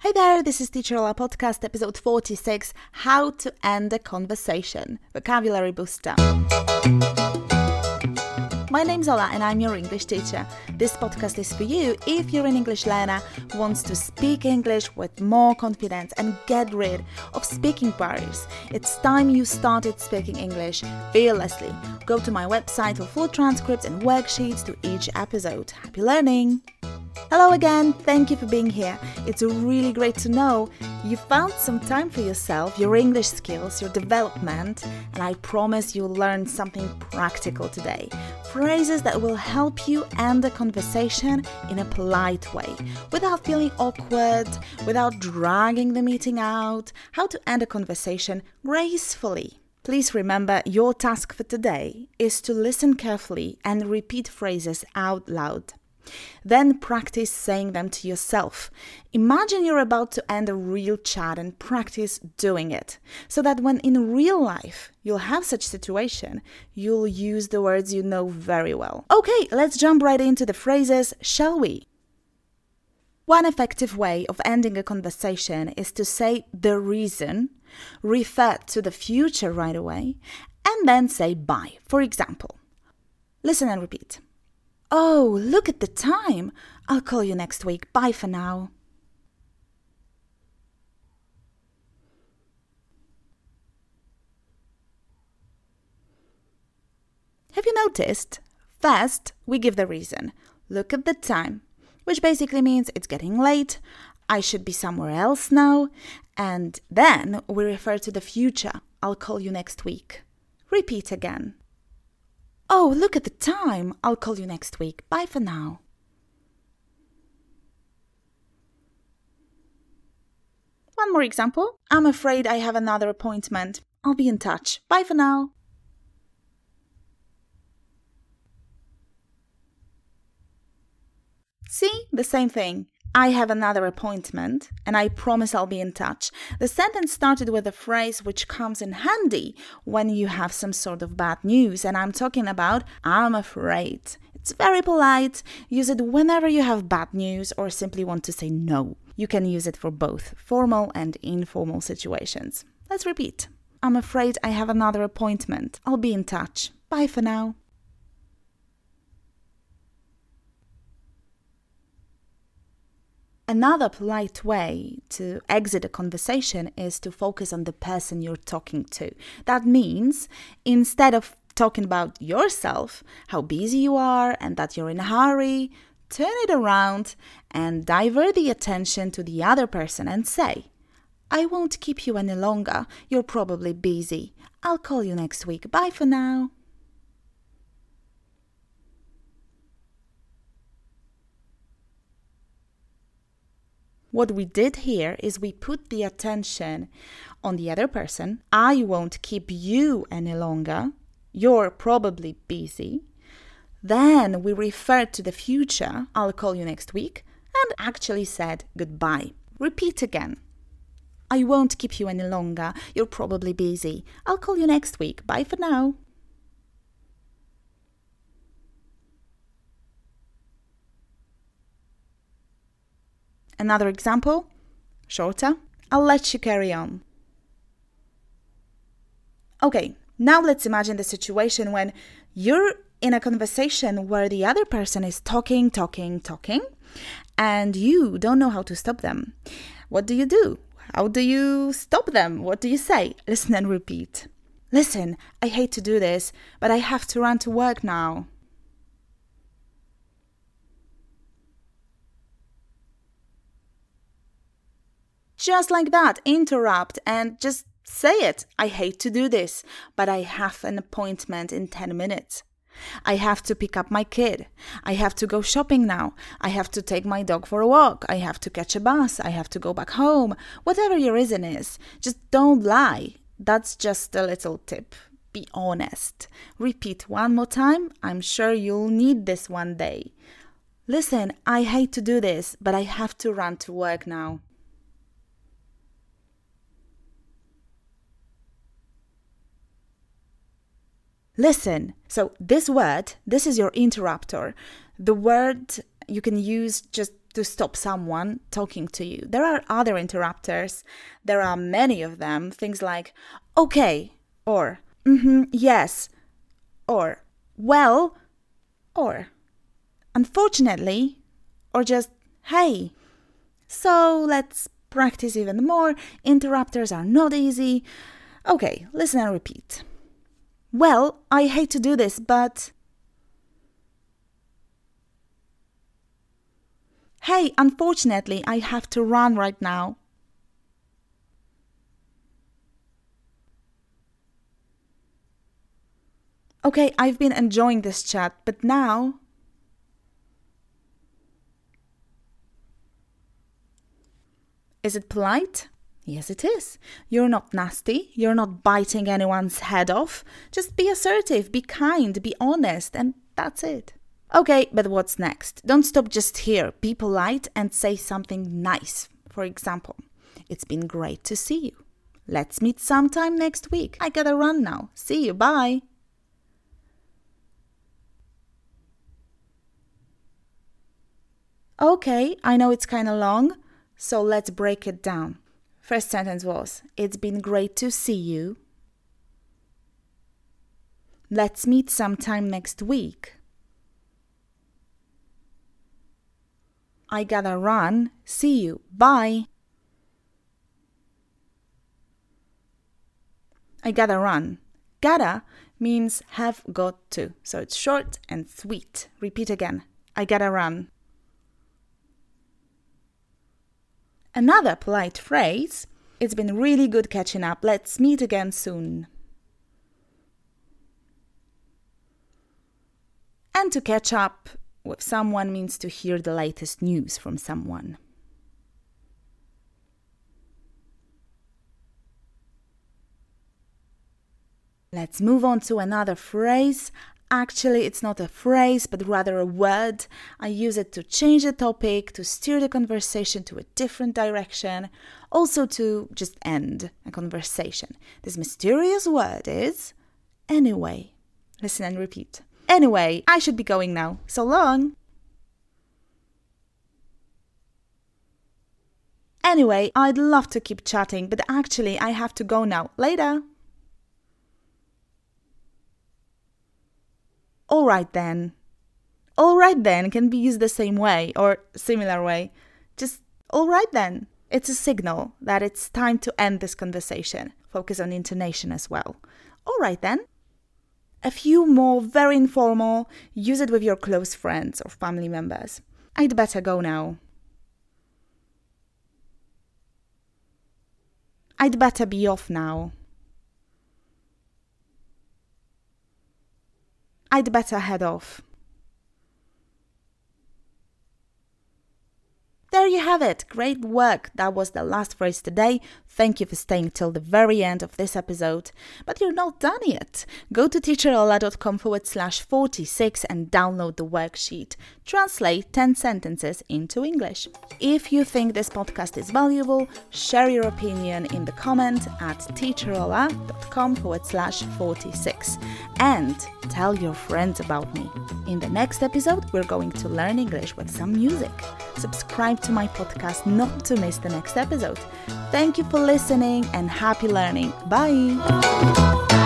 Hey there, this is Teacher Ola Podcast, episode 46, How to End a Conversation, Vocabulary Booster. My name's Ola and I'm your English teacher. This podcast is for you if you're an English learner who wants to speak English with more confidence and get rid of speaking barriers. It's time you started speaking English fearlessly. Go to my website for full transcripts and worksheets to each episode. Happy learning! Hello again, thank you for being here. It's really great to know you found some time for yourself, your English skills, your development, and I promise you'll learn something practical today. Phrases that will help you end a conversation in a polite way, without feeling awkward, without dragging the meeting out, how to end a conversation gracefully. Please remember, your task for today is to listen carefully and repeat phrases out loud. Then practice saying them to yourself. Imagine you're about to end a real chat and practice doing it, so that when in real life you'll have such situation, you'll use the words you know very well. Okay, let's jump right into the phrases, shall we? One effective way of ending a conversation is to say the reason, refer to the future right away, and then say bye. For example, listen and repeat. Oh, look at the time. I'll call you next week. Bye for now. Have you noticed? First, we give the reason. Look at the time, which basically means it's getting late. I should be somewhere else now. And then we refer to the future. I'll call you next week. Repeat again. Oh, look at the time. I'll call you next week. Bye for now. One more example. I'm afraid I have another appointment. I'll be in touch. Bye for now. See? The same thing. I have another appointment and I promise I'll be in touch. The sentence started with a phrase which comes in handy when you have some sort of bad news, and I'm talking about I'm afraid. It's very polite. Use it whenever you have bad news or simply want to say no. You can use it for both formal and informal situations. Let's repeat. I'm afraid I have another appointment. I'll be in touch. Bye for now. Another polite way to exit a conversation is to focus on the person you're talking to. That means instead of talking about yourself, how busy you are and that you're in a hurry, turn it around and divert the attention to the other person and say, I won't keep you any longer. You're probably busy. I'll call you next week. Bye for now. What we did here is we put the attention on the other person. I won't keep you any longer. You're probably busy. Then we referred to the future. I'll call you next week. And actually said goodbye. Repeat again. I won't keep you any longer. You're probably busy. I'll call you next week. Bye for now. Another example, shorter. I'll let you carry on. Okay, now let's imagine the situation when you're in a conversation where the other person is talking, and you don't know how to stop them. What do you do? How do you stop them? What do you say? Listen and repeat. Listen, I hate to do this, but I have to run to work now. Just like that, interrupt and just say it. I hate to do this, but I have an appointment in 10 minutes. I have to pick up my kid. I have to go shopping now. I have to take my dog for a walk. I have to catch a bus. I have to go back home. Whatever your reason is, just don't lie. That's just a little tip. Be honest. Repeat one more time. I'm sure you'll need this one day. Listen, I hate to do this, but I have to run to work now. Listen. So this word, this is your interrupter. The word you can use just to stop someone talking to you. There are other interrupters. There are many of them. Things like, okay, or yes, or well, or unfortunately, or just hey. So let's practice even more. Interrupters are not easy. Okay, listen and repeat. Well, I hate to do this, but... Hey, unfortunately, I have to run right now. Okay, I've been enjoying this chat, but now... Is it polite? Yes, it is. You're not nasty. You're not biting anyone's head off. Just be assertive, be kind, be honest, and that's it. Okay, but what's next? Don't stop just here. Be polite and say something nice. For example, it's been great to see you. Let's meet sometime next week. I gotta run now. See you. Bye. Okay, I know it's kind of long, so let's break it down. First sentence was, it's been great to see you. Let's meet sometime next week. I gotta run. See you. Bye. I gotta run. Gotta means have got to. So it's short and sweet. Repeat again. I gotta run. Another polite phrase. It's been really good catching up. Let's meet again soon. And to catch up with someone means to hear the latest news from someone. Let's move on to another phrase. Actually, it's not a phrase, but rather a word. I use it to change the topic, to steer the conversation to a different direction, also to just end a conversation. This mysterious word is anyway. Listen and repeat. Anyway, I should be going now. So long. Anyway, I'd love to keep chatting, but actually I have to go now. Later. All right then. All right then can be used the same way or similar way. Just all right then. It's a signal that it's time to end this conversation. Focus on intonation as well. All right then. A few more very informal. Use it with your close friends or family members. I'd better go now. I'd better be off now. I'd better head off. There you have it. Great work. That was the last phrase today. Thank you for staying till the very end of this episode. But you're not done yet. Go to teacherola.com/46 and download the worksheet. Translate 10 sentences into English. If you think this podcast is valuable, share your opinion in the comment at teacherola.com/46 and tell your friends about me. In the next episode, we're going to learn English with some music. Subscribe to my podcast not to miss the next episode. Thank you for listening and happy learning. Bye!